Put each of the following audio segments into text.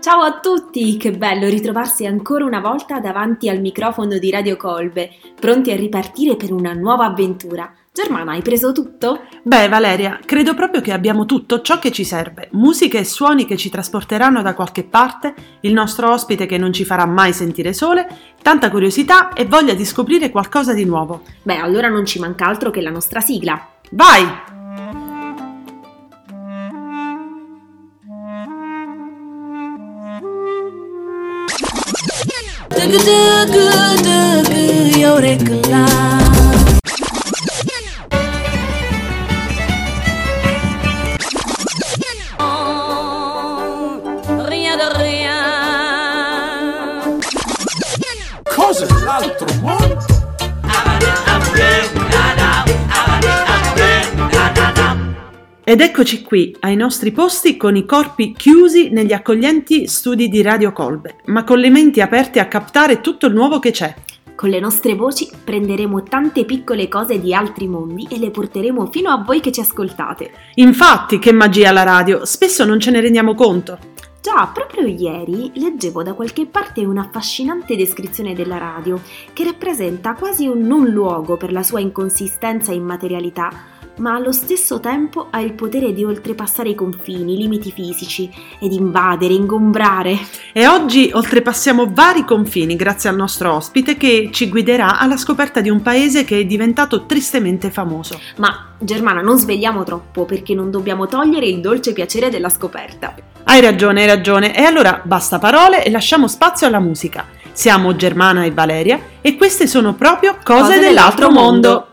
Ciao a tutti, che bello ritrovarsi ancora una volta davanti al microfono di Radio Colbe, pronti a ripartire per una nuova avventura. Germana, hai preso tutto? Beh, Valeria, credo proprio che abbiamo tutto ciò che ci serve. Musiche e suoni che ci trasporteranno da qualche parte, il nostro ospite che non ci farà mai sentire sole, tanta curiosità e voglia di scoprire qualcosa di nuovo. Beh, allora non ci manca altro che la nostra sigla. Vai! Cosa l'altro mondo? Ed eccoci qui, ai nostri posti con i corpi chiusi negli accoglienti studi di Radio Colbe, ma con le menti aperte a captare tutto il nuovo che c'è. Con le nostre voci prenderemo tante piccole cose di altri mondi e le porteremo fino a voi che ci ascoltate. Infatti, che magia la radio, spesso non ce ne rendiamo conto. Già, proprio ieri leggevo da qualche parte un'affascinante descrizione della radio che rappresenta quasi un non luogo per la sua inconsistenza e immaterialità, ma allo stesso tempo ha il potere di oltrepassare i confini, i limiti fisici ed invadere, ingombrare. E oggi oltrepassiamo vari confini grazie al nostro ospite che ci guiderà alla scoperta di un paese che è diventato tristemente famoso. Ma Germana, non svegliamo troppo perché non dobbiamo togliere il dolce piacere della scoperta. Hai ragione. E allora basta parole e lasciamo spazio alla musica. Siamo Germana e Valeria e queste sono proprio Cose dell'altro mondo.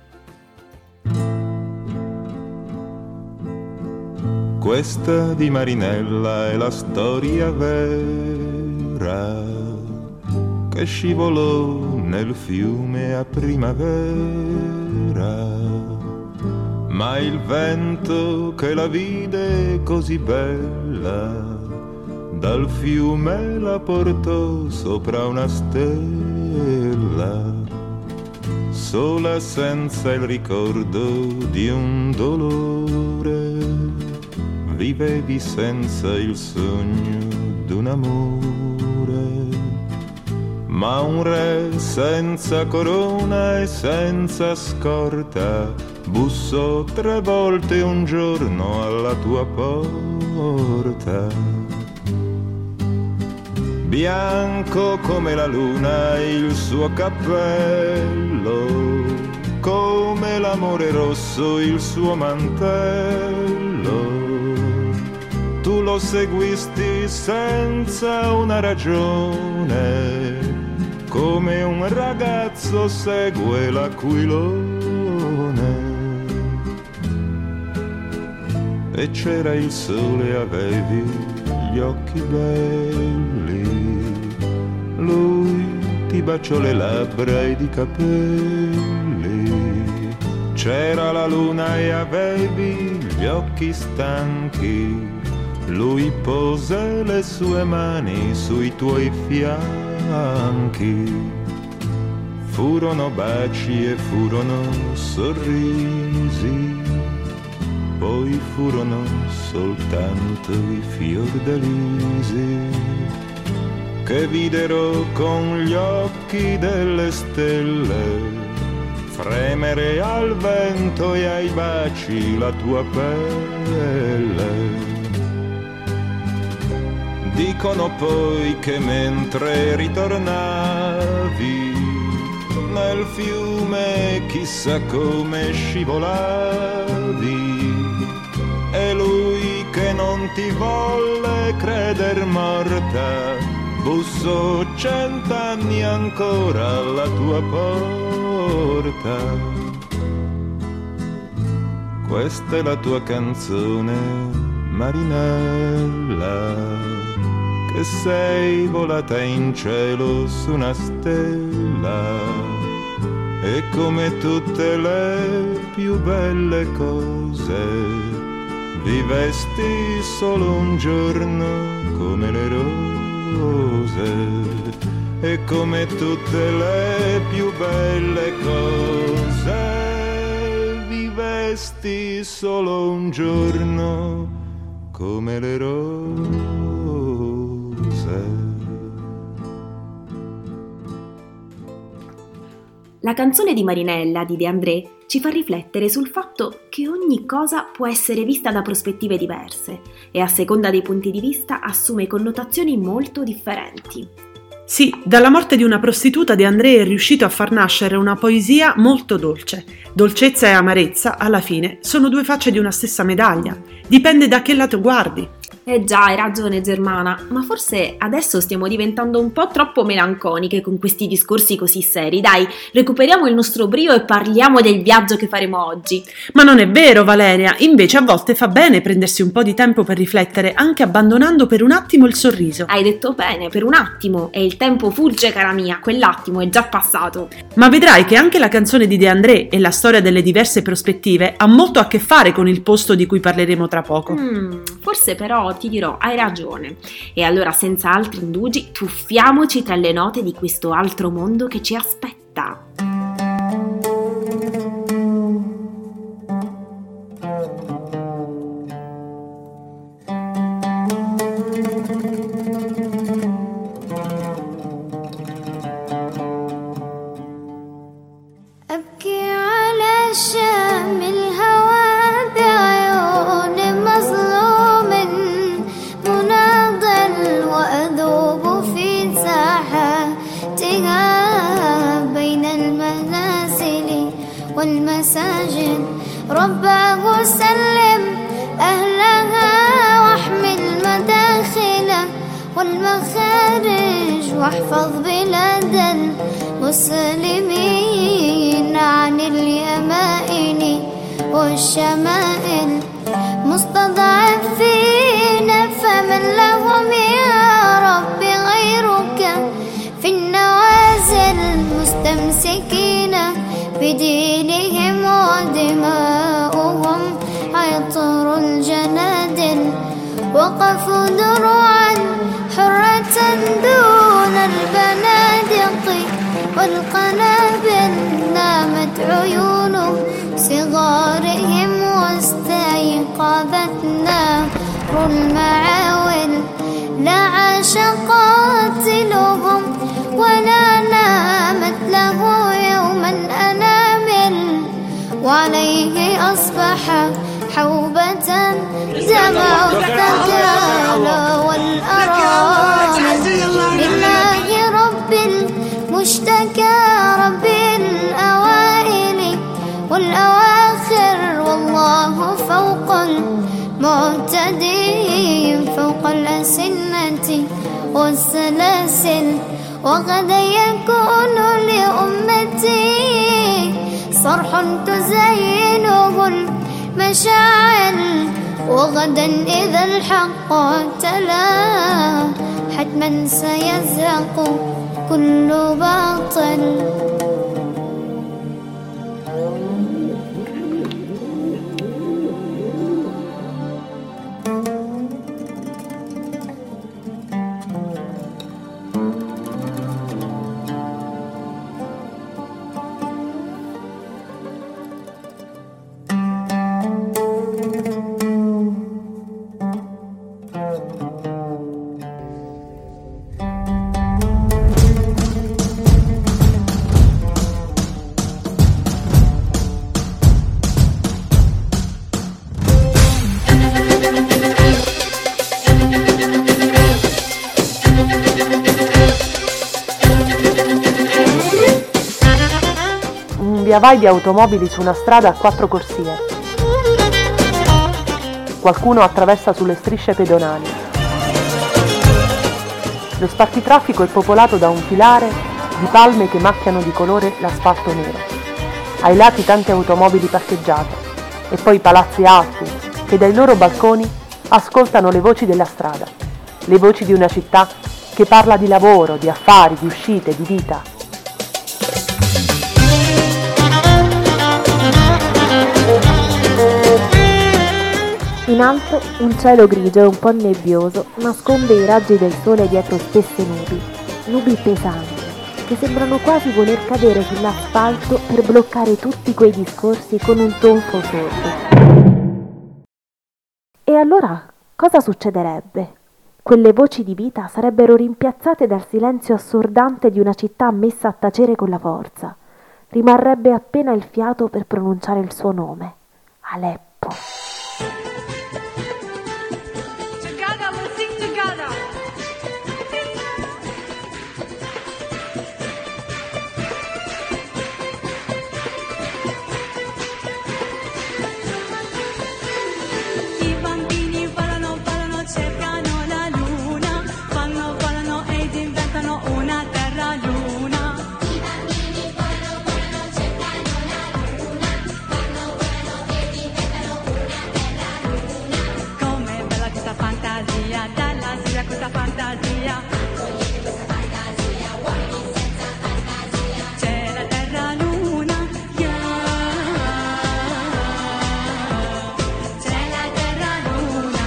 Questa di Marinella è la storia vera che scivolò nel fiume a primavera, ma il vento che la vide così bella dal fiume la portò sopra una stella, sola senza il ricordo di un dolore. Vivevi senza il sogno d'un amore, ma un re senza corona e senza scorta bussò 3 volte un giorno alla tua porta. Bianco come la luna il suo cappello, come l'amore rosso il suo mantello. Tu lo seguisti senza una ragione, come un ragazzo segue l'aquilone. E c'era il sole, avevi gli occhi belli, lui ti baciò le labbra ed i capelli. C'era la luna e avevi gli occhi stanchi, lui pose le sue mani sui tuoi fianchi. Furono baci e furono sorrisi, poi furono soltanto i fiordalisi che videro con gli occhi delle stelle fremere al vento e ai baci la tua pelle. Dicono poi che mentre ritornavi nel fiume chissà come scivolavi, e lui che non ti volle creder morta bussò 100 anni ancora alla tua porta. Questa è la tua canzone, Marinella, che sei volata in cielo su una stella, e come tutte le più belle cose vivesti solo un giorno come le rose, e come tutte le più belle cose vivesti solo un giorno come le rose. La canzone di Marinella di De André ci fa riflettere sul fatto che ogni cosa può essere vista da prospettive diverse e a seconda dei punti di vista assume connotazioni molto differenti. Sì, dalla morte di una prostituta De André è riuscito a far nascere una poesia molto dolce. Dolcezza e amarezza, alla fine, sono due facce di una stessa medaglia. Dipende da che lato guardi. Già, hai ragione Germana, ma forse adesso stiamo diventando un po' troppo melanconiche con questi discorsi così seri. Dai, recuperiamo il nostro brio e parliamo del viaggio che faremo oggi. Ma non è vero, Valeria, invece a volte fa bene prendersi un po' di tempo per riflettere, anche abbandonando per un attimo il sorriso. Hai detto bene, per un attimo, e il tempo fugge cara mia, quell'attimo è già passato. Ma vedrai che anche la canzone di De André e la storia delle diverse prospettive ha molto a che fare con il posto di cui parleremo tra poco. Forse però ti dirò, hai ragione. E allora senza altri indugi tuffiamoci tra le note di questo altro mondo che ci aspetta. والمساجد رباه سلم أهلها واحمي المداخل والمخارج واحفظ بلاد المسلمين عن اليمائن والشمائل مستضعفين فمن لهم يا رب غيرك في النوازل مستمسكين بدينهم ودماؤهم عطر الجنادل وقفوا دروعا حرة دون البنادق والقنابل نامت عيون صغارهم واستيقظت نار المعاول لا عاش قاتلهم ولا نامت له يوما أنامل وعليه أصبح حوبة دمع الثكال والأرامل لله رب المشتكى رب الأوائل والأواخر والله فوق المعتدين فوق الأسنة والسلاسل وغدا يكون لأمتي صرح تزينه المشاعل وغدا إذا الحق تلا حتما سيزهق كل باطل. Via vai di automobili su una strada a 4 corsie. Qualcuno attraversa sulle strisce pedonali. Lo spartitraffico è popolato da un filare di palme che macchiano di colore l'asfalto nero. Ai lati tante automobili parcheggiate e poi palazzi alti che dai loro balconi ascoltano le voci della strada, le voci di una città che parla di lavoro, di affari, di uscite, di vita. In alto un cielo grigio e un po' nebbioso nasconde i raggi del sole dietro spesse nubi pesanti, che sembrano quasi voler cadere sull'asfalto per bloccare tutti quei discorsi con un tonfo sordo. E allora cosa succederebbe? Quelle voci di vita sarebbero rimpiazzate dal silenzio assordante di una città messa a tacere con la forza. rimarrebbe appena il fiato per pronunciare il suo nome. Aleppo. Together, we'll sing together. I bambini volano, volano, cercano la luna, vanno, volano ed inventano una terra luna. I bambini volano, volano, cercano la luna, vanno, volano ed inventano una terra luna. Com'è bella questa fantasia, dalla Siria questa fantasia. Accogliete questa fantasia, uomini senza fantasia. C'è la terra luna, yeah. C'è la terra luna.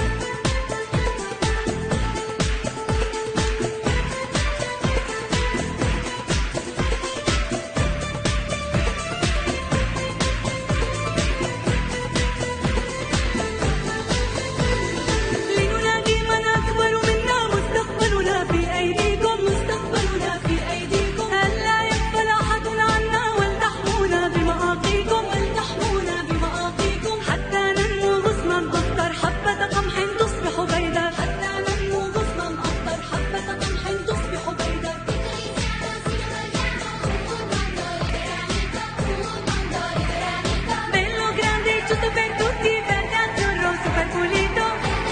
لننادي من أكبر منا مستقبلنا في أيديكم مستقبلنا في أيديكم ألا يغفل أحد عنا ولتحمونا بمآقيكم ولتحمونا بمآقيكم حتى ننمو غصنا أخضر حبة قمح تصبح بيضا حتى ننمو غصنا أخضر حبة قمح تصبح بيضا bello grande giusto per tutti verde azzurro super pulito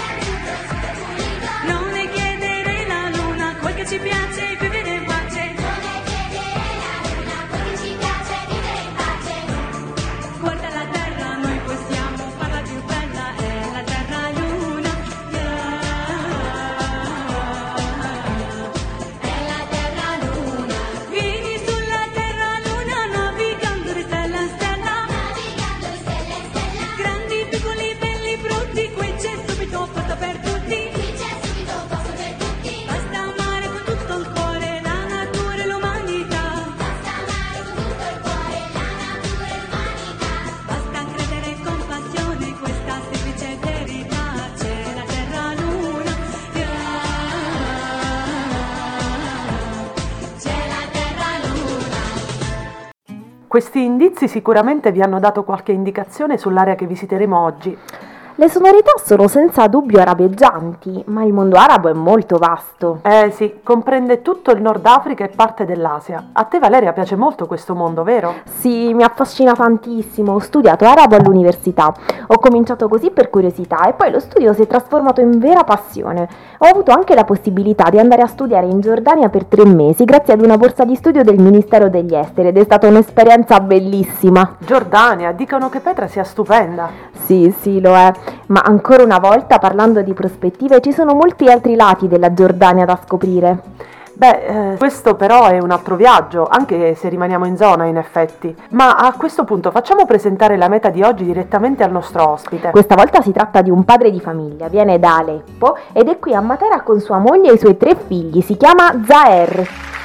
non le chiedere la luna quel che ci piace vivere in pace non le chiedere la luna quel che ci piace vivere in pace guarda la terra noi possiamo farla più bella è la terra luna è la terra luna vieni sulla terra luna navigando di stella in stella grandi, piccoli, belli, brutti, qui c'è subito posto per tutti. Basta amare con tutto il cuore la natura e l'umanità. Basta credere con passione questa semplice verità. C'è la terra luna, c'è la terra luna. Questi indizi sicuramente vi hanno dato qualche indicazione sull'area che visiteremo oggi. Le sonorità sono senza dubbio arabeggianti, ma il mondo arabo è molto vasto. Sì, comprende tutto il Nord Africa e parte dell'Asia. A te Valeria piace molto questo mondo, vero? Sì, mi affascina tantissimo. Ho studiato arabo all'università. Ho cominciato così per curiosità e poi lo studio si è trasformato in vera passione. Ho avuto anche la possibilità di andare a studiare in Giordania per 3 mesi grazie ad una borsa di studio del Ministero degli Esteri ed è stata un'esperienza bellissima. Giordania, dicono che Petra sia stupenda. Sì, lo è. Ma ancora una volta, parlando di prospettive, ci sono molti altri lati della Giordania da scoprire. Questo però è un altro viaggio, anche se rimaniamo in zona in effetti. Ma a questo punto facciamo presentare la meta di oggi direttamente al nostro ospite. Questa volta si tratta di un padre di famiglia, viene da Aleppo ed è qui a Matera con sua moglie e i suoi 3 figli. Si chiama Zaher.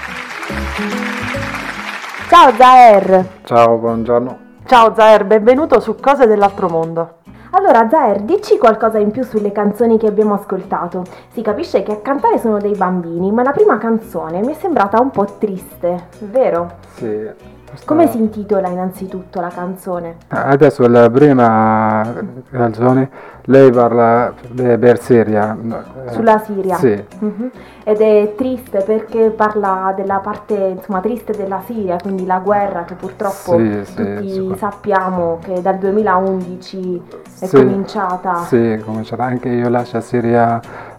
Ciao Zaher. Ciao, buongiorno. Ciao Zaher, benvenuto su Cose dell'altro mondo. Allora Zaher, dici qualcosa in più sulle canzoni che abbiamo ascoltato. Si capisce che a cantare sono dei bambini, ma la prima canzone mi è sembrata un po' triste, vero? Sì. Come si intitola innanzitutto la canzone? Adesso la prima canzone, lei parla per Siria. Sulla Siria? Sì. Mhm. Ed è triste perché parla della parte, insomma, triste della Siria, quindi la guerra che purtroppo tutti sappiamo che dal 2011 è cominciata. Sì, è cominciata. Anche io lascio Siria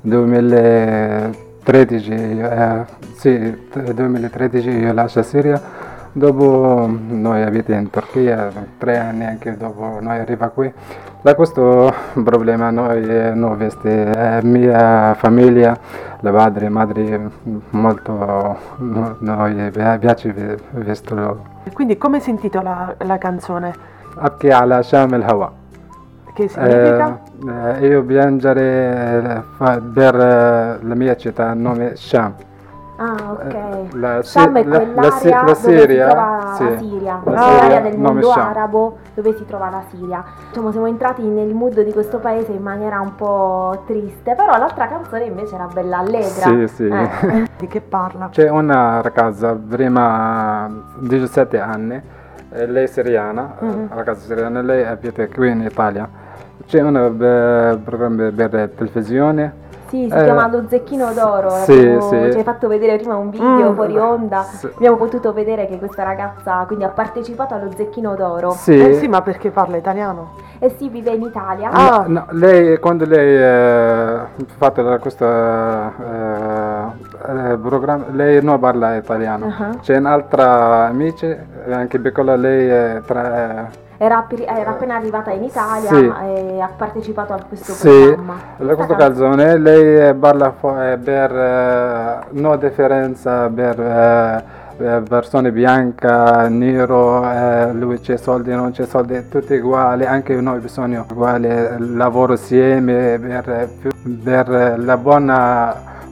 2013, 2013 io lascio Siria. Dopo noi abitiamo in Turchia, 3 anni anche dopo noi arriva qui. Da questo problema noi non veste mia famiglia, la madre molto, noi piace vestono. Quindi come si intitola la canzone? Abki ala Sham el Hawa. Che significa? Io piangere per la mia città, nome Sham. Ah, ok. La Sham è Si- la- quell'area la dove si Siria, trova sì. la Siria, La l'area Siria, del nome mondo Sham. arabo dove si trova la Siria. Diciamo, siamo entrati nel mood di questo paese in maniera un po' triste, però l'altra canzone invece era bella allegra. Sì, sì. Di che parla? C'è una ragazza, prima 17 anni, lei è siriana, ragazza siriana, lei abita qui in Italia. C'è un programma per televisione. Sì, si chiama Lo Zecchino d'Oro. Sì, sì. Ci hai fatto vedere prima un video fuori onda. Sì. Abbiamo potuto vedere che questa ragazza quindi ha partecipato allo Zecchino d'Oro. Sì. Sì, ma perché parla italiano? E si vive in Italia. No, lei, quando lei ha fatto questo programma, lei non parla italiano. C'è un'altra amica, anche piccola, lei è Era appena arrivata in Italia Sì. e ha partecipato a questo sì, programma. in questa canzone lei parla per no differenza per persone bianche, nero, lui c'è soldi, non c'è soldi, tutti uguali, anche noi bisogna uguali, lavoro insieme per la buona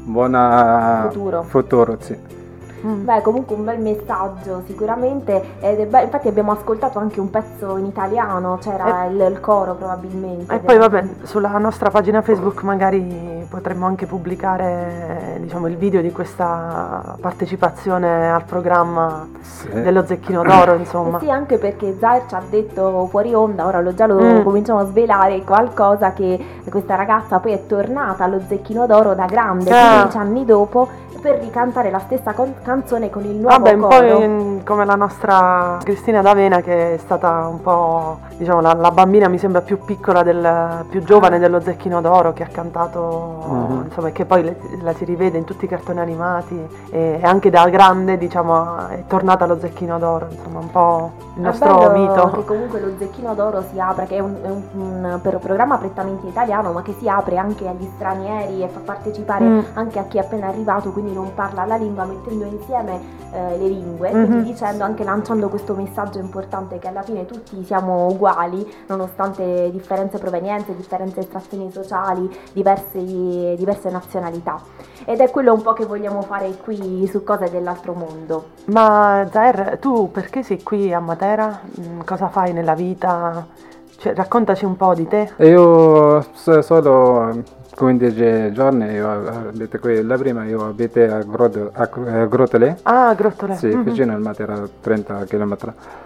futuro, sì. Beh, comunque un bel messaggio sicuramente, infatti abbiamo ascoltato anche un pezzo in italiano, c'era il coro probabilmente. E poi vabbè, sulla nostra pagina Facebook magari potremmo anche pubblicare, diciamo, il video di questa partecipazione al programma dello Zecchino d'Oro, insomma. Sì, anche perché Zair ci ha detto fuori onda, ora già lo cominciamo a svelare, qualcosa che questa ragazza poi è tornata allo Zecchino d'Oro da grande, 15 anni dopo, per ricantare la stessa canzone con il nuovo Vabbè, un coro. po' come la nostra Cristina D'Avena, che è stata un po', diciamo, la bambina mi sembra più piccola, più giovane dello Zecchino d'Oro, che ha cantato, insomma, e che poi la si rivede in tutti i cartoni animati, e anche da grande, diciamo, è tornata allo Zecchino d'Oro, insomma, un po' il nostro mito. Che comunque lo Zecchino d'Oro si apre, che è un programma prettamente italiano, ma che si apre anche agli stranieri e fa partecipare anche a chi è appena arrivato, quindi non parla la lingua, mettendo insieme le lingue, quindi dicendo, anche lanciando questo messaggio importante, che alla fine tutti siamo uguali, nonostante differenze provenienze, differenze estrazioni sociali, diverse nazionalità. Ed è quello un po' che vogliamo fare qui su Cose dell'altro mondo. Ma Zair, tu perché sei qui a Matera? Cosa fai nella vita? Cioè, raccontaci un po' di te. Io solo 15 giorni io abito qui. La prima io abito a Grottole. Ah, Grottole. Sì, vicino al Matera, 30 km.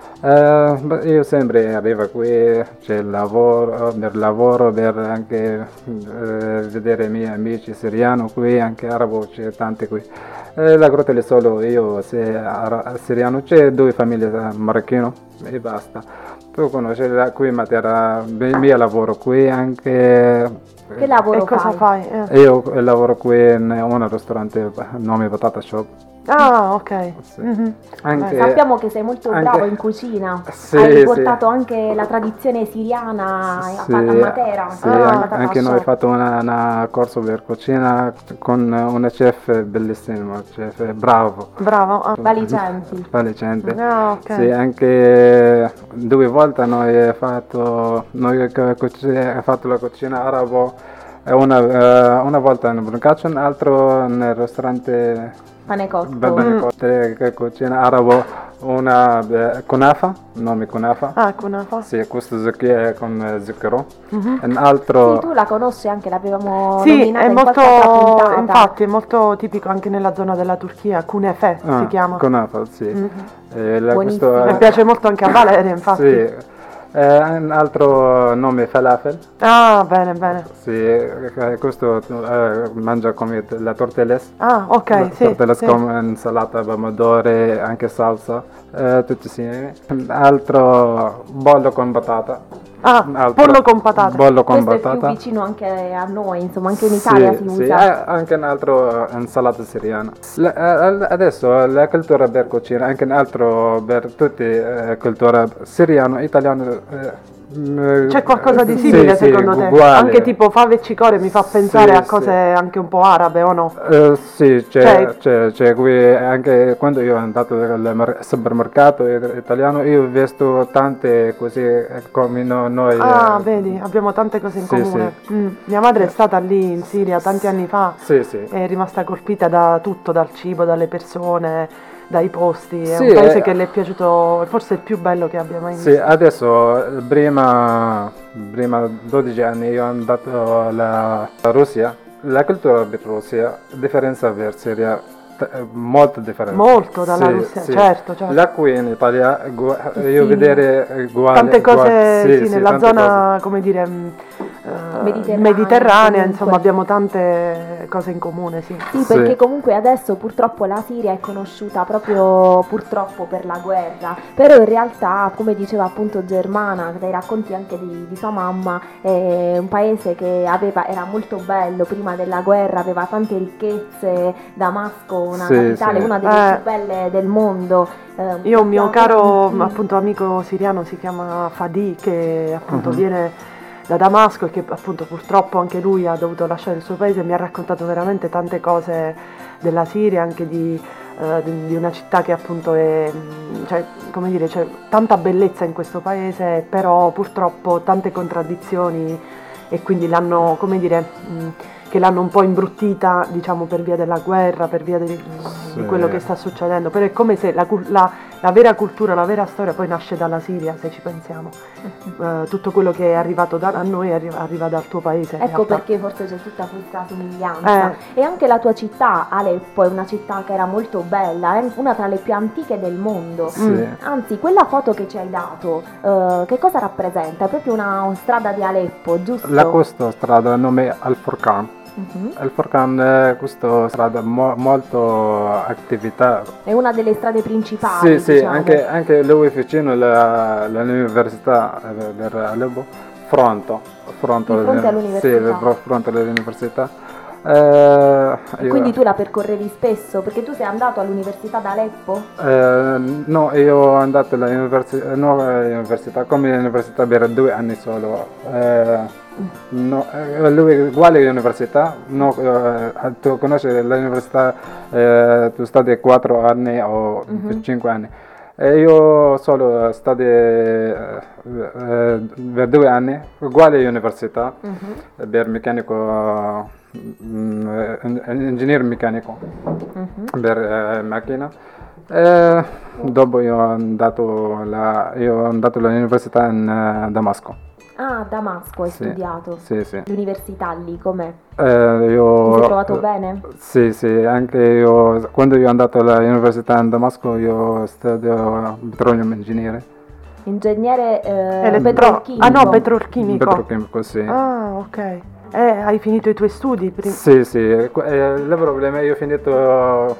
Io sempre arrivo qui, c'è il lavoro, per anche vedere i miei amici siriani qui, anche arabo, c'è tanti qui. La Grottole solo io, siriano, c'è 2 famiglie marocchine e basta. Tu conosci qui Matera, il mio lavoro qui anche. Che lavoro E cosa fai? Io lavoro qui in un ristorante, nome Patata Shop. Ah, ok. Sì. Anche, sappiamo che sei molto bravo in cucina. Sì, hai portato anche la tradizione siriana a Matera. Sì, anche noi abbiamo fatto un corso per cucina con una chef bellissima, chef bravo. Bravo. Valicenti. Ah, ok. Sì, anche 2 volte noi abbiamo fatto la cucina arabo, una volta in Brancaccio, un'altra nel ristorante Panecotto. Cucina arabo, una kunafa, nome kunafa. Ah, kunafa. Sì, questo zucchero con zucchero. Un altro. Sì, tu la conosci anche, l'avevamo Sì, nominata è in qualche altra molto, puntata. infatti è molto tipico anche nella zona della Turchia, kunefe si chiama. Kunafa, sì. Buonissimo. Mi piace molto anche a Valeria, infatti. Sì. Un altro nome falafel. Ah, bene. Sì, questo mangia come la tortelles. Ah, ok, sì. Tortelles con insalata, pomodori, anche salsa, tutti insieme. Un altro bollo con patata. Ah, pollo con patate. Bollo con Questo patata. è più vicino anche a noi, insomma, anche in Italia si sì, usa. anche un altro insalata siriana. Adesso la cultura per cucina, anche un altro per tutti cultura siriano, italiano, C'è qualcosa di simile secondo te? Uguale. Anche tipo fave e cicore mi fa pensare a Sì, cose anche un po' arabe o no? Sì, c'è qui anche quando io sono andato al supermercato italiano, io ho visto tante così come noi. Vedi, abbiamo tante cose in Sì, comune. Mia madre è stata lì in Siria tanti anni fa, Sì, sì. è rimasta colpita da tutto, dal cibo, dalle persone, dai posti. È Sì, un paese che le è piaciuto, forse il più bello che abbia mai visto. Sì, adesso prima 12 anni io sono andato alla Russia, la cultura di Russia, differenza per Siria, molto differente. Molto dalla Sì, Russia, sì. certo. La qui in Italia, io vedere uguale. Tante cose, sì, nella tante zona, cose. come dire, Mediterranea, insomma comunque. abbiamo tante cose in comune, sì. Sì, perché comunque adesso purtroppo la Siria è conosciuta proprio purtroppo per la guerra, però in realtà, come diceva appunto Germana, dai racconti anche di sua mamma, è un paese che era molto bello prima della guerra, aveva tante ricchezze, Damasco, una Sì, capitale, sì. una delle più belle del mondo. Io ho un mio abbiamo- caro appunto amico siriano, si chiama Fadi, che appunto viene da Damasco e che appunto purtroppo anche lui ha dovuto lasciare il suo paese. Mi ha raccontato veramente tante cose della Siria, anche di una città che appunto è, cioè, come dire, c'è tanta bellezza in questo paese, però purtroppo tante contraddizioni, e quindi l'hanno, come dire, che l'hanno un po' imbruttita, diciamo, per via della guerra, per via di quello che sta succedendo. Però è come se la vera cultura, la vera storia poi nasce dalla Siria, se ci pensiamo. Tutto quello che è arrivato a noi arriva dal tuo paese. in Ecco realtà. perché forse c'è tutta questa somiglianza. E anche la tua città, Aleppo, è una città che era molto bella, è una tra le più antiche del mondo. Sì. Anzi, quella foto che ci hai dato, che cosa rappresenta? È proprio una strada di Aleppo, giusto? Questa strada nome Al-Furqan. Al-Furqan è questa strada molto attività. È una delle strade principali. Sì, diciamo. anche lui vicino all'università di Aleppo, fronte all'università. Sì, fronte all'università. Quindi tu la percorrevi spesso, perché tu sei andato all'università da Aleppo? No, io ho andato all'università come università per 2 anni solo. No, lui è uguale all'università, no, tu conosci l'università, tu studi 4 anni o 5 anni. Io solo studi per 2 anni, uguale all'università, per meccanico, ingegnere meccanico, per macchina. Dopo io ho andato all'università in Damasco. Ah, a Damasco hai studiato? Sì, sì. L'università lì, com'è? Ti Io, sei trovato bene? Sì, anche io, quando io sono andato all'università in Damasco, io studio petroleum ingegnere. Ingegnere petrolchimico? Ah no, petrolchimico. Petrolchimico, sì. Ah, ok. Hai finito i tuoi studi prima? Sì, il problema è che io ho finito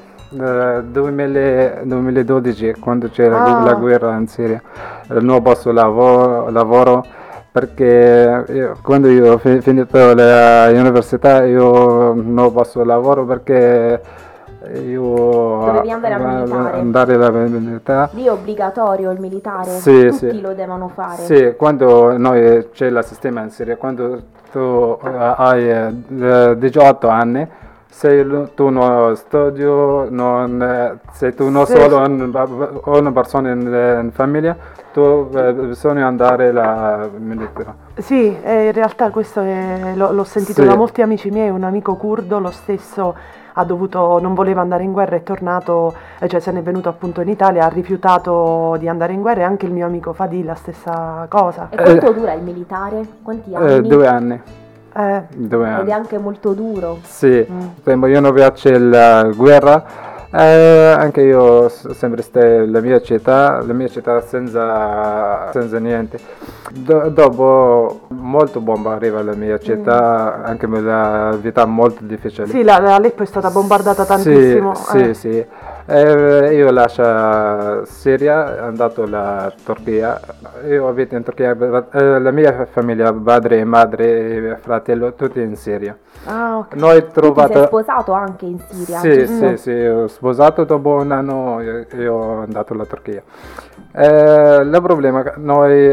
2012, quando c'era la guerra in Siria. Non ho posto lavoro perché quando io ho finito l'università io non ho posto lavoro perché io dovevi andare alla militare. Lì è obbligatorio il militare? Sì, Tutti lo devono fare? Sì, quando noi c'è il sistema in Siria, quando tu hai 18 anni, se tu non studi, se tu non solo una persona in famiglia, tu bisogna andare alla militare. Sì, in realtà questo l'ho sentito da molti amici miei. Un amico curdo, lo stesso, non voleva andare in guerra, è tornato, cioè se n'è venuto appunto in Italia, ha rifiutato di andare in guerra, e anche il mio amico Fadil la stessa cosa. E quanto dura il militare? Quanti anni? 2 anni. 2 anni. Ed è anche molto duro. Sì, io non piace la guerra. Anche io sempre stai la mia città senza niente. Dopo molto bomba arriva alla mia città, anche la vita molto difficile. Sì, Aleppo è stata bombardata tantissimo. Sì. Io lascio Siria, andato alla Turchia. Io abito in Turchia, la mia famiglia, padre, madre e fratello, tutti in Siria. Ah, ok. Noi Tu ti trovato... sei sposato anche in Siria, Sì, giusto? sì, ho sposato, dopo un anno io sono andato alla Turchia. Il problema è che noi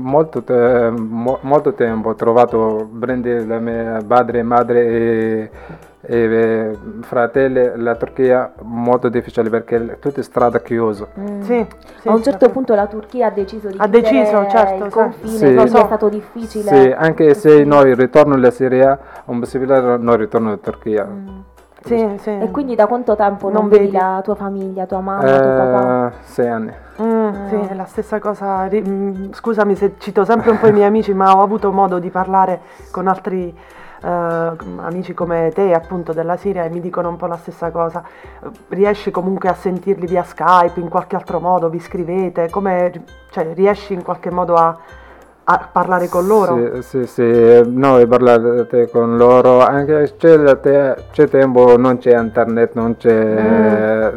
molto tempo ho trovato prendere la mia padre, madre e fratelli, la Turchia molto difficile perché tutte strade chiuse. Sì, sì, A un certo certo. punto la Turchia ha deciso di Ha chiudere deciso, certo, il sì. confine, Sì. quindi Lo so. è stato difficile. Sì, anche se noi ritorno alla Siria, è possibile non ritorno alla Turchia. Sì, sì. E quindi da quanto tempo non Non vedi vedi? la tua famiglia, tua mamma, tuo papà? 6 anni. Sì, è la stessa cosa. Scusami se cito sempre un po' i miei amici, ma ho avuto modo di parlare con altri amici come te, appunto, della Siria, e mi dicono un po' la stessa cosa. Riesci comunque a sentirli via Skype, in qualche altro modo, vi scrivete? Cioè, riesci in qualche modo a parlare con loro? Sì, noi parlate con loro, anche c'è tempo, non c'è internet, non c'è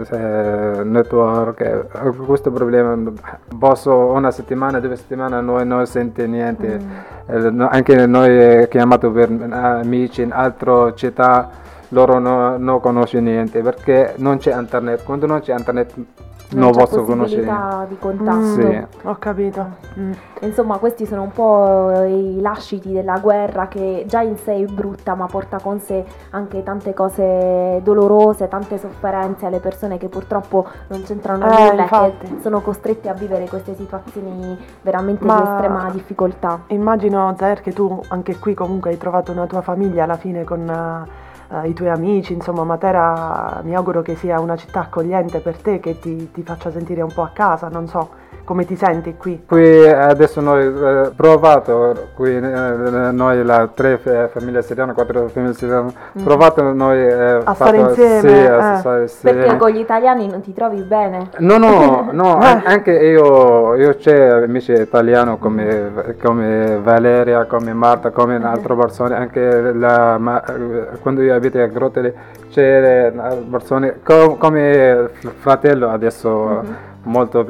network, questo problema, posso una settimana, 2 settimane, noi non sente niente, anche noi chiamato per amici in altre città, loro non conoscono niente, perché non c'è internet, quando non c'è internet non c'è posso conoscere. possibilità di contatto. Sì. Ho capito. Insomma, questi sono un po' i lasciti della guerra, che già in sé è brutta, ma porta con sé anche tante cose dolorose, tante sofferenze alle persone che purtroppo non c'entrano nulla e infatti. che sono costrette a vivere queste situazioni veramente Ma di estrema difficoltà. Immagino, Zaher, che tu anche qui comunque hai trovato una tua famiglia alla fine con i tuoi amici, insomma. Matera mi auguro che sia una città accogliente per te, che ti faccia sentire un po' a casa, non so come ti senti qui. Qui adesso noi provato, qui noi la 3 famiglie siriane, 4 famiglie siriane, provato noi A stare insieme, sì, a stare insieme. Perché con gli italiani non ti trovi bene? No, anche io c'è amici italiani come Valeria, come Marta, come altre persone, anche quando io abito a Grottole c'è persone come fratello adesso. Molto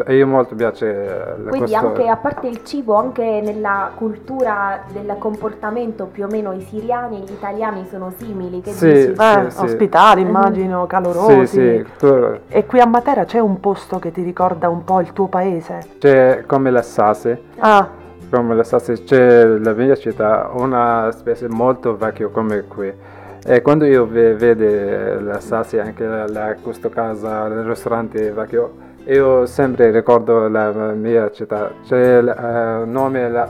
piace Quindi questo. anche, a parte il cibo, anche nella cultura del comportamento, più o meno i siriani e gli italiani sono simili, che dici? Sì. Ospitali, immagino, calorosi. Sì. E qui a Matera c'è un posto che ti ricorda un po' il tuo paese? C'è come la Sassi. Come la Sassi, c'è la mia città, una specie molto vecchia come qui. E quando io vedo la Sassi, anche questa casa, il ristorante vecchio, io sempre ricordo la mia città. C'è il nome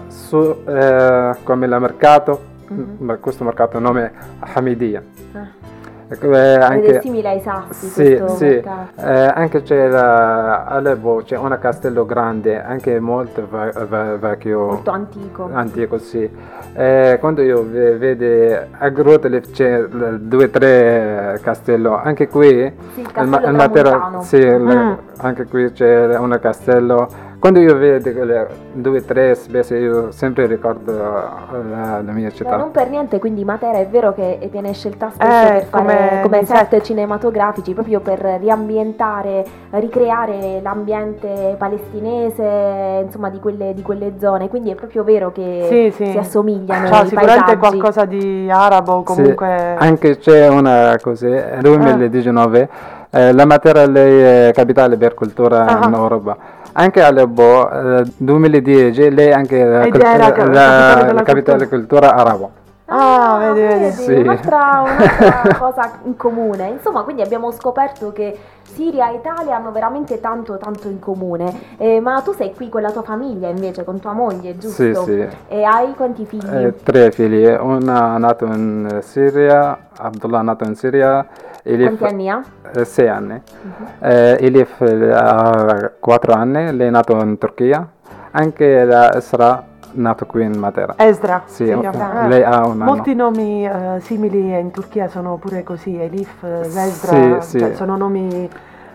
come il mercato, ma questo mercato nome Hamidia. Ed è Anche, simile ai Sassi, questo mercato. anche c'è Aleppo, c'è un castello grande, anche molto vecchio. Molto antico. Antico, sì. Quando io vedo a Grottole c'è 2 o 3 castelli, anche qui Sì, il castello tramontano. sì, anche qui c'è un castello. Quando io vedo quelle 2 o 3 spese, io sempre ricordo la mia Ma città. non per niente, quindi Matera è vero che viene scelta spesso per fare come set cinematografici, proprio per riambientare, ricreare l'ambiente palestinese, insomma di quelle zone, quindi è proprio vero che si assomigliano i sicuramente paesaggi. qualcosa di arabo comunque. Sì, anche c'è una cosa, nel 2019 la Matera lei è capitale per cultura in Europa. Anche Aleppo 2010 lei è anche la capitale della cultura arabo. Vedi. Sì. Un'altra cosa in comune. Insomma, quindi abbiamo scoperto che Siria e Italia hanno veramente tanto in comune. Ma tu sei qui con la tua famiglia invece, con tua moglie, giusto? Sì. E hai quanti figli? 3 figli, una nato in Siria, Abdullah nato in Siria. Elif, quanti anni ha? 6 anni. Elif ha 4 anni, lei è nato in Turchia. Anche la Esra nato qui in Matera. Esra? Sì, lei ha un anno. Molti nomi simili in Turchia sono pure così, Elif, Esra, sì. cioè sono nomi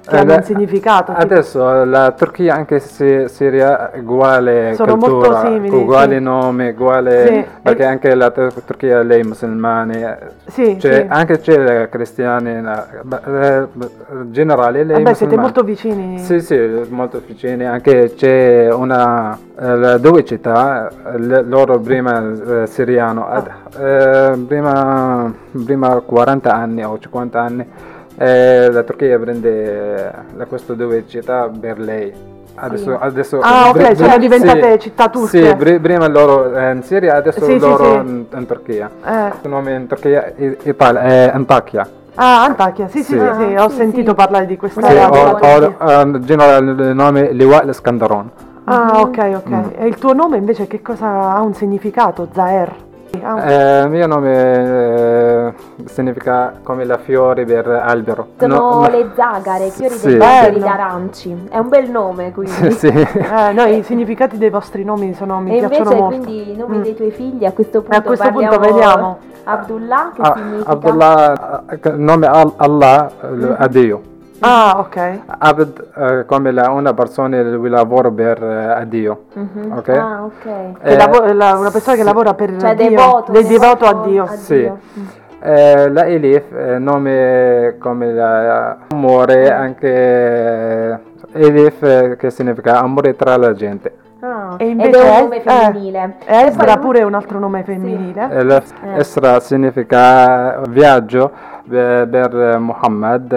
che hanno un significato. Adesso la Turchia, anche se Siria, uguale sono cultura, molto simili, uguale sì. nome, uguale, Sì. perché anche la Turchia lei musulmani, Sì, cioè, sì. anche c'è cristiani, generale lei Vabbè, siete musulmani. molto vicini. Sì, sì, molto vicini, anche c'è due città, loro prima siriano, prima 40 anni o 50 anni, la Turchia prende queste due città per lei. Adesso Ah, ok, sono diventate città turche. Sì, prima loro in Siria, adesso Sì, sì, loro sì. in Turchia. Eh. Il nome in Turchia è Antakya. Ah, Antakya, sì, sì, Sì. sì, ho sentito parlare di questa Sì, realtà. in generale il nome Liwa al-Iskandaron. Ah, ok. E il tuo nome invece che cosa ha un significato? Zaher? Il mio nome significa come la fiore per albero. Sono le zagare, fiori Sì. degli alberi Bello. d'aranci. È un bel nome, quindi. Sì. No, i significati dei vostri nomi mi E piacciono invece molto. quindi i nomi dei tuoi figli a questo punto A questo punto parliamo vediamo. Abdullah, che significa Abdullah, nome Allah, a Dio. Ah, ok. Abd come una persona che lavora per Dio. Ok? Ah, ok. Una persona che lavora per Cioè Dio, devoto a Dio. Sì. La Elif, nome come l'amore, anche Elif che significa amore tra la gente. Ah, E ed invece è un nome femminile. Esdra E poi- pure è un altro nome femminile. Esra significa viaggio per Muhammad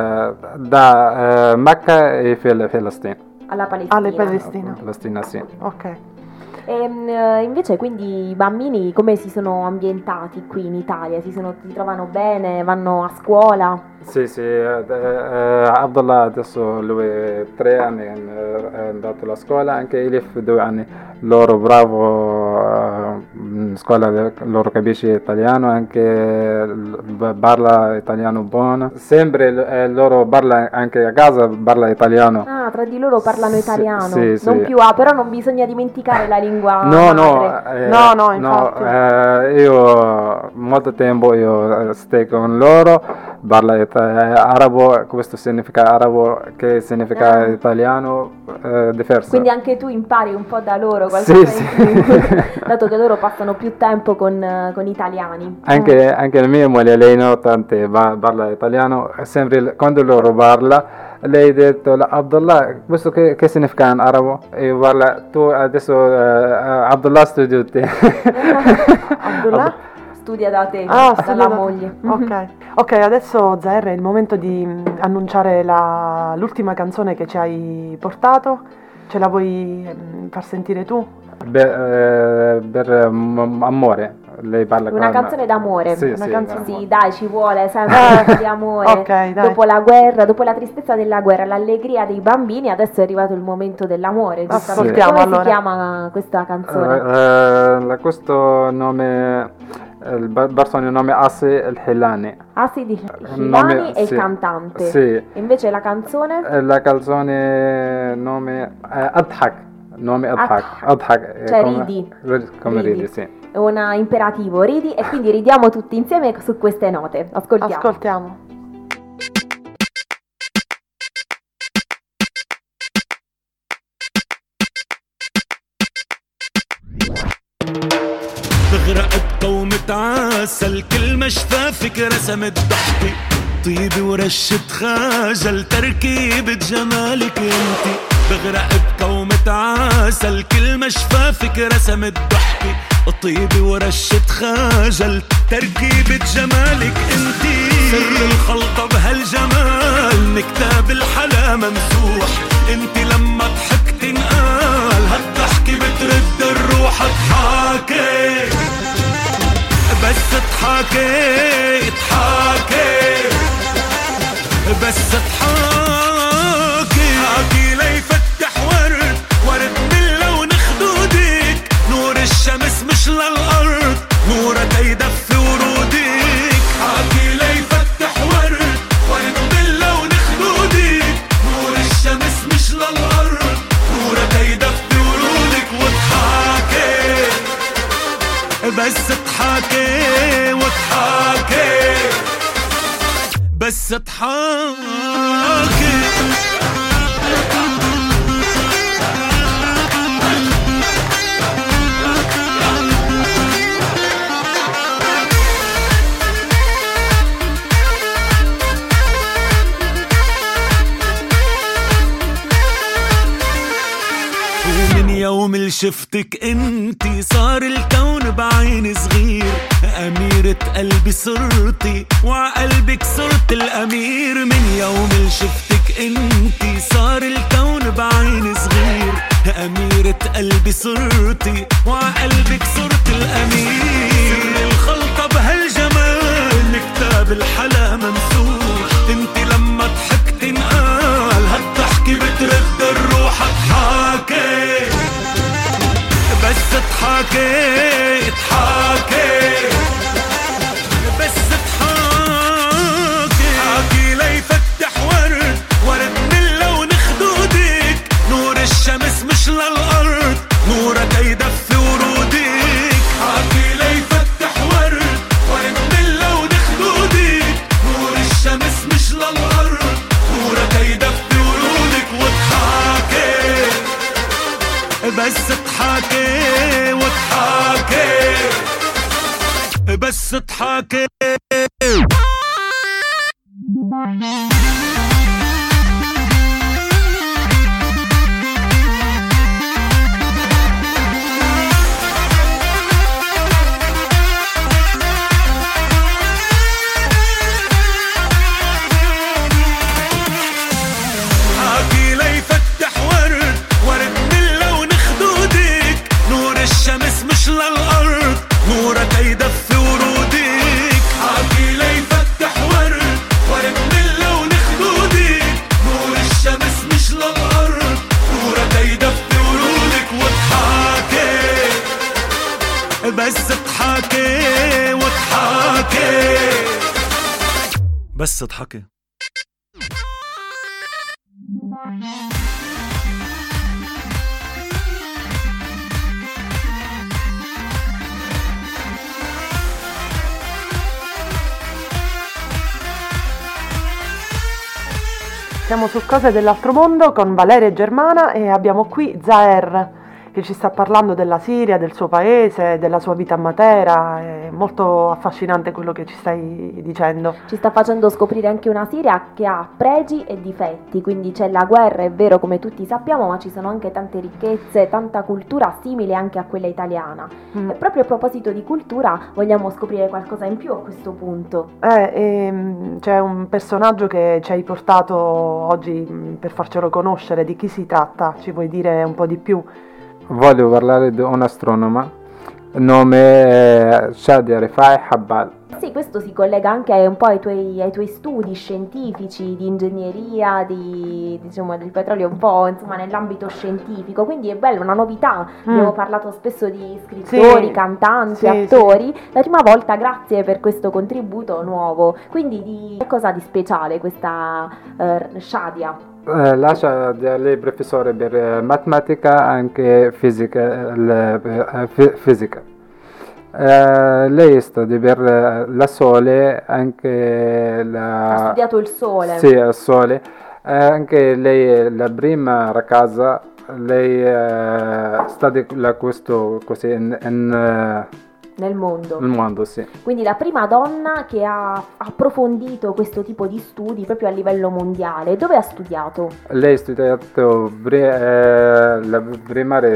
da Mecca e Palestina. alla Palestina. Alle Palestina. Palestina, sì. Ok. E invece quindi i bambini come si sono ambientati qui in Italia? Si trovano bene? Vanno a scuola? Sì, Abdullah adesso lui è 3 anni, è andato alla scuola, anche Elif 2 anni, loro bravo in scuola, loro capisce italiano, anche parla italiano buono, sempre loro parla anche a casa, parla italiano. Ah, tra di loro parlano italiano, sì, non sì. più però non bisogna dimenticare la lingua No, madre. No, infatti. io molto tempo io sto con loro, parla arabo, questo significa arabo, che significa italiano, diverso. Quindi anche tu impari un po' da loro qualcosa Sì, in più, dato che loro passano più tempo con italiani. Anche la mia moglie, lei nonostante parla italiano, sempre quando loro parla, lei ha detto Abdullah, questo che significa in arabo? E io parla, tu adesso Abdullah studio te. Abdullah? Studia da te, studia dalla da te. moglie. Ok, adesso Zaher è il momento di annunciare l'ultima canzone che ci hai portato. Ce la vuoi far sentire tu? Per amore, lei parla Una canzone d'amore. Sì, Una sì, canzone, d'amore. sì, dai, ci vuole sempre di amore. Ok, dai. Dopo la guerra, dopo la tristezza della guerra, l'allegria dei bambini, adesso è arrivato il momento dell'amore. giustamente. Ascoltiamo, Come allora. si chiama questa canzone? Questo nome, il persona nome Asi El-Hilani. Asi nome- Hilani è il sì, cantante. sì. E invece la canzone? La canzone nome Adhak, nome Adhak, Cioè ridi. come Ridi. ridi, sì. È un imperativo, ridi, e quindi ridiamo tutti insieme su queste note. Ascoltiamo. Ascoltiamo. تغرق بقومة عسل كل ما شفافك رسمت ضحكي طيبة ورشة خجل تركيبة جمالك انتي بغرق بقومة عسل كل ما شفافك رسمت ضحكي طيبة ورشة خجل تركيبة جمالك انتي سر الخلطة بهالجمال نكتاب الحلا ممسوح انتي لما ضحكتي انقال هالضحكة بترد الروح اضحكي بس اضحكي بس اضحكي حكي ليفتح ورد من لون خدودك نور الشمس مش للأرض نورك يدفي ورودك حكي ليفتح ورد من لون خدودك نور الشمس مش للأرض نورك يدفي ورودك واضحكي بس اضحكي واضحكي بس بس تحاكي. ومن يوم اللي شفتك انتي صار الكون بعين صغير، أميرة قلبي صرتي وعقلبك صرت الأمير. من يوم اللي شفتك انتي صار الكون بعين صغير، أميرة قلبي صرتي وعقلبك صرت الأمير. سر الخلطة بهالجمال كتاب الحلا ممسوح، انتي لما ضحكتي انقال هالضحكة بترد الروح. اضحكي بس اضحكي اضحكي بس اضحكي. حكي ليفتح ورد ورد من لون خدودك، نور الشمس مش للأرض نورك يدفي ورودك. حكي ليفتح ورد ورد من لون خدودك، نور الشمس مش للأرض نورك يدفي ورودك. واضحكي بس اضحكي واضحكي بس اضحكي. حكي ليفتح ورد ورد من لون خدودك، نور الشمس مش للأرض نورك يدفي ورودك. حكي ليفتح ورد ورد من لون خدودك، نور الشمس مش للأرض نورك يدفي ورودك. واضحكي بس اضحكي واضحكي بس اضحكي. Siamo su Cose dell'altro mondo con Valeria e Germana e abbiamo qui Zaher che ci sta parlando della Siria, del suo paese, della sua vita a Matera. È molto affascinante quello che ci stai dicendo. Ci sta facendo scoprire anche una Siria che ha pregi e difetti, quindi c'è la guerra, è vero, come tutti sappiamo, ma ci sono anche tante ricchezze, tanta cultura simile anche a quella italiana. E proprio a proposito di cultura vogliamo scoprire qualcosa in più a questo punto. C'è un personaggio che ci hai portato oggi per farcelo conoscere. Di chi si tratta? Ci vuoi dire un po' di più? Voglio parlare di un astronoma, nome Shadia Rifai Habbal. Sì, questo si collega anche un po' ai tuoi studi scientifici, di ingegneria, di petrolio, un po' insomma nell'ambito scientifico, quindi è bello, una novità. Abbiamo parlato spesso di scrittori, cantanti, attori. La prima volta, grazie per questo contributo nuovo. Quindi che cosa di speciale questa Shadia? La Shadia, lei è professore per matematica, anche fisica. Lei studia per la Sole, anche ha studiato il Sole. Sì, il Sole. Anche lei è la prima ragazza, lei studia questo così nel mondo. Nel mondo, sì. Quindi la prima donna che ha approfondito questo tipo di studi proprio a livello mondiale. Dove ha studiato? Lei ha studiato la primaria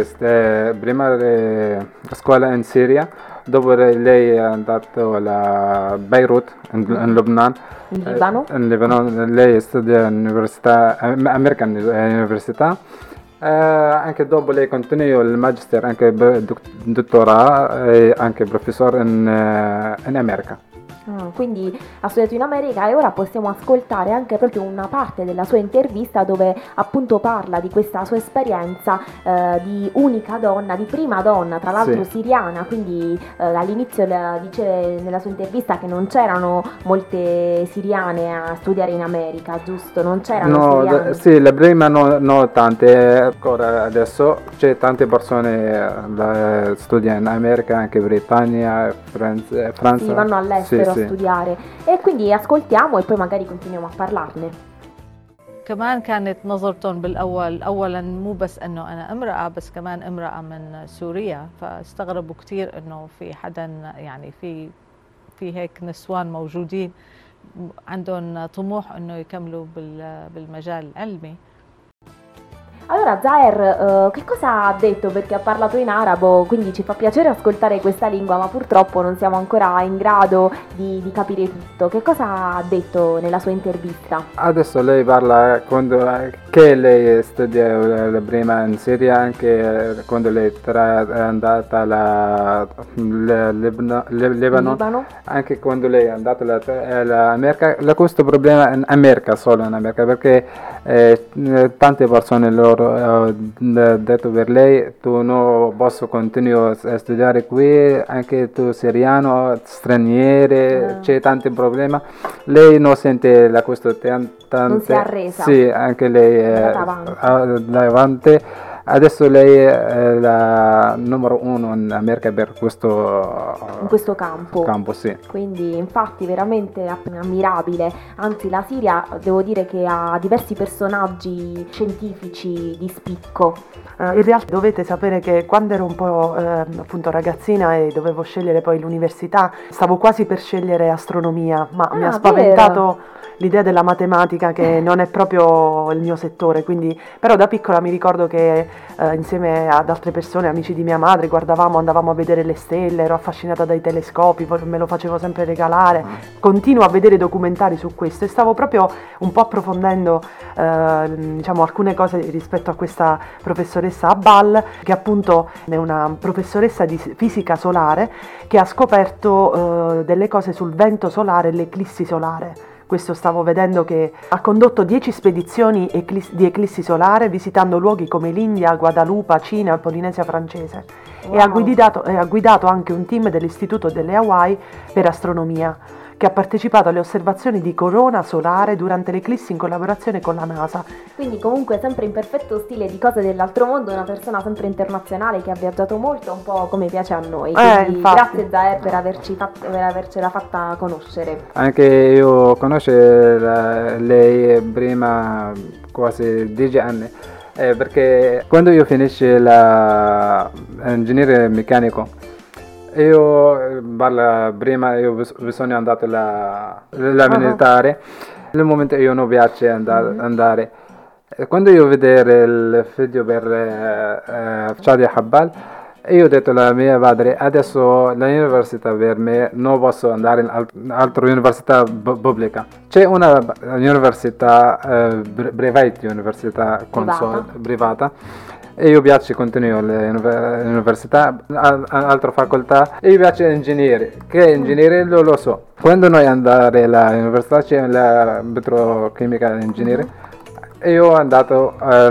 scuola in Siria, dopo lei è andato a Beirut, in Lebanon. In Libano? In Libano. Lei studia all'università, American Università. Anche dopo lei continua il magister, anche dottorato e anche professore in America. Quindi ha studiato in America, e ora possiamo ascoltare anche proprio una parte della sua intervista dove appunto parla di questa sua esperienza di unica donna, di prima donna, tra l'altro siriana. Quindi all'inizio dice nella sua intervista che non c'erano molte siriane a studiare in America, giusto? Non c'erano siriane? Sì, la prima no tante, ancora adesso c'è tante persone che studiano in America, anche Britannia, Francia. Sì, vanno all'estero a sì. studiare. E quindi ascoltiamo e poi magari continuiamo a parlarne. كمان كانت نظرتهم بالأول أولا مو بس أنه أنا امرأة بس كمان امرأة من سوريا، فاستغربوا كتير أنه في حدا يعني في هيك نسوان موجودين عندهم طموح أنه يكملوا بالمجال العلمي. Allora Zaher, che cosa ha detto? Perché ha parlato in arabo, quindi ci fa piacere ascoltare questa lingua, ma purtroppo non siamo ancora in grado di capire tutto. Che cosa ha detto nella sua intervista? Adesso lei parla che lei studia prima in Siria, anche quando lei è andata alla Libano, anche quando lei è andata all'America. Questo problema in America, solo in America, perché tante persone loro detto per lei tu non posso continuare a studiare qui, anche tu siriano, straniere, c'è tanti problemi. Lei non sente questo non si è arresa. Sì, anche lei è davanti. Adesso lei è la numero uno in America per in questo campo. Sì. Quindi infatti veramente ammirabile. Anzi, la Siria devo dire che ha diversi personaggi scientifici di spicco. In realtà dovete sapere che quando ero un po' appunto ragazzina e dovevo scegliere poi l'università, stavo quasi per scegliere astronomia, ma mi ha spaventato l'idea della matematica, che non è proprio il mio settore, quindi però da piccola mi ricordo che insieme ad altre persone, amici di mia madre, andavamo a vedere le stelle, ero affascinata dai telescopi, poi me lo facevo sempre regalare, continuo a vedere documentari su questo e stavo proprio un po' approfondendo diciamo alcune cose rispetto a questa professoressa Abal, che appunto è una professoressa di fisica solare che ha scoperto delle cose sul vento solare e l'eclissi solare. Questo stavo vedendo, che ha condotto 10 spedizioni di eclissi solare visitando luoghi come l'India, Guadalupe, Cina e Polinesia francese. Wow. E ha guidato anche un team dell'Istituto delle Hawaii per astronomia, che ha partecipato alle osservazioni di corona solare durante l'eclissi in collaborazione con la NASA. Quindi comunque sempre in perfetto stile di Cose dell'altro mondo, una persona sempre internazionale che ha viaggiato molto, un po' come piace a noi. Quindi grazie Zaher per avercela fatta conoscere. Anche io conosco lei prima quasi 10 anni, perché quando io finisci l'ingegnere meccanico, io prima io bisogna andare alla militare, nel momento io non piace andare. Quando io vedere il video per Shadia Habbal, io ho detto alla mia padre, adesso l'università per me non posso andare in altra università pubblica. C'è una università privata, università privata. E io piace continuo all'università, altra facoltà, e io piace ingegnere, che ingegnere lo so. Quando noi andare all'università c'è la petrochimica ingegnere, e io ho andato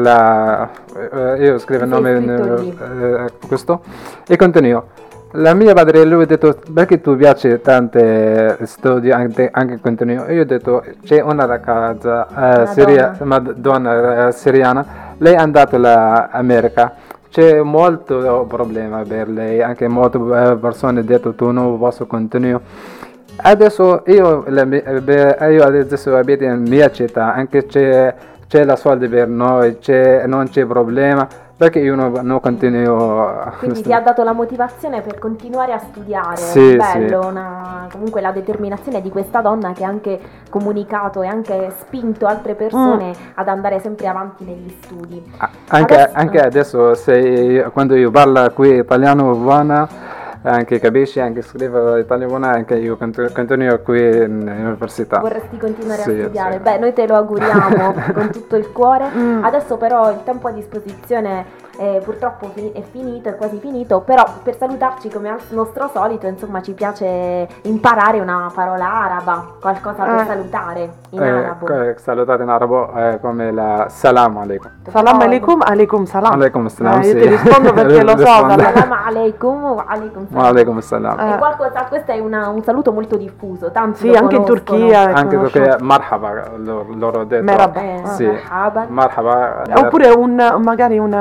io scrivo il nome questo e continuo. La mia padre, lui ha detto, perché tu piace tante studi, anche continuo. Io ho detto, c'è una ragazza donna siriana, lei è andata all'America, c'è molto problema per lei, anche molte persone hanno detto, tu non posso continuare. Adesso io adesso abito in mia città, anche c'è la soldi per noi, non c'è problema, perché io non continuo. Quindi ti ha dato la motivazione per continuare a studiare. Sì, bello, sì. Comunque la determinazione di questa donna che ha anche comunicato e anche spinto altre persone ad andare sempre avanti negli studi. Anche adesso quando io parlo qui italiano buona, anche capisci, anche scrivo italiano, anche io continuo qui in università. Vorresti continuare a studiare? Sì. Beh, noi te lo auguriamo con tutto il cuore. Adesso però il tempo a disposizione purtroppo è finito, è quasi finito, però per salutarci come al nostro solito, insomma, ci piace imparare una parola araba, qualcosa per salutare in arabo. Salutare in arabo come la salam alaikum. Salam alaikum, alaikum salam. Alaikum salam, io ti rispondo perché lo so. Salam alaikum wa alaikum salam. Alaikum salam. E questo è un saluto molto diffuso, tanti sì, anche in Turchia. Anche perché marhaba loro detto. Merhaba. Sì. Marhaba. Oppure magari un saluto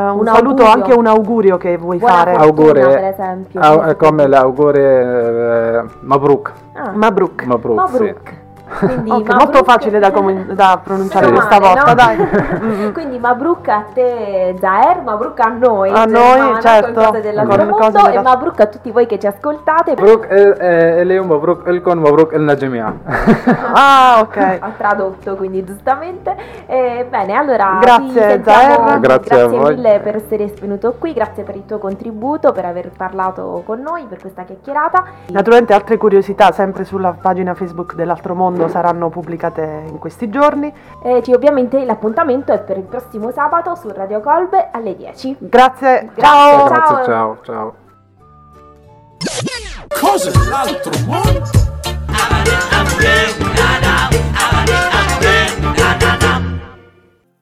saluto, anche un augurio che vuoi Buona fare. fortuna, Auguri, per esempio. come l'augurio Mabruk. Mabruk. Mabruk, sì. Mabruk. Quindi Ok, Mabruk- molto facile da pronunciare Meno questa male, volta, no? dai. Quindi Mabruk a te Zaher, Mabruk a noi A Germana, noi, certo, con cose dell'altro con mondo, cose e della- Mabruk a tutti voi che ci ascoltate. مبروك اليوم مبروك لكم مبروك لنا جميعا. Ah, ok. Ha tradotto, quindi giustamente. Bene, allora Grazie, ti sentiamo. Zaher. Grazie a voi. Mille per essere venuto qui, grazie per il tuo contributo, per aver parlato con noi, per questa chiacchierata. Naturalmente altre curiosità sempre sulla pagina Facebook dell'Altro Mondo saranno pubblicate in questi giorni. Ovviamente l'appuntamento è per il prossimo sabato su Radio Colbe alle 10. Grazie, Ciao. Grazie, ciao, ciao. Cosa l'altro mondo?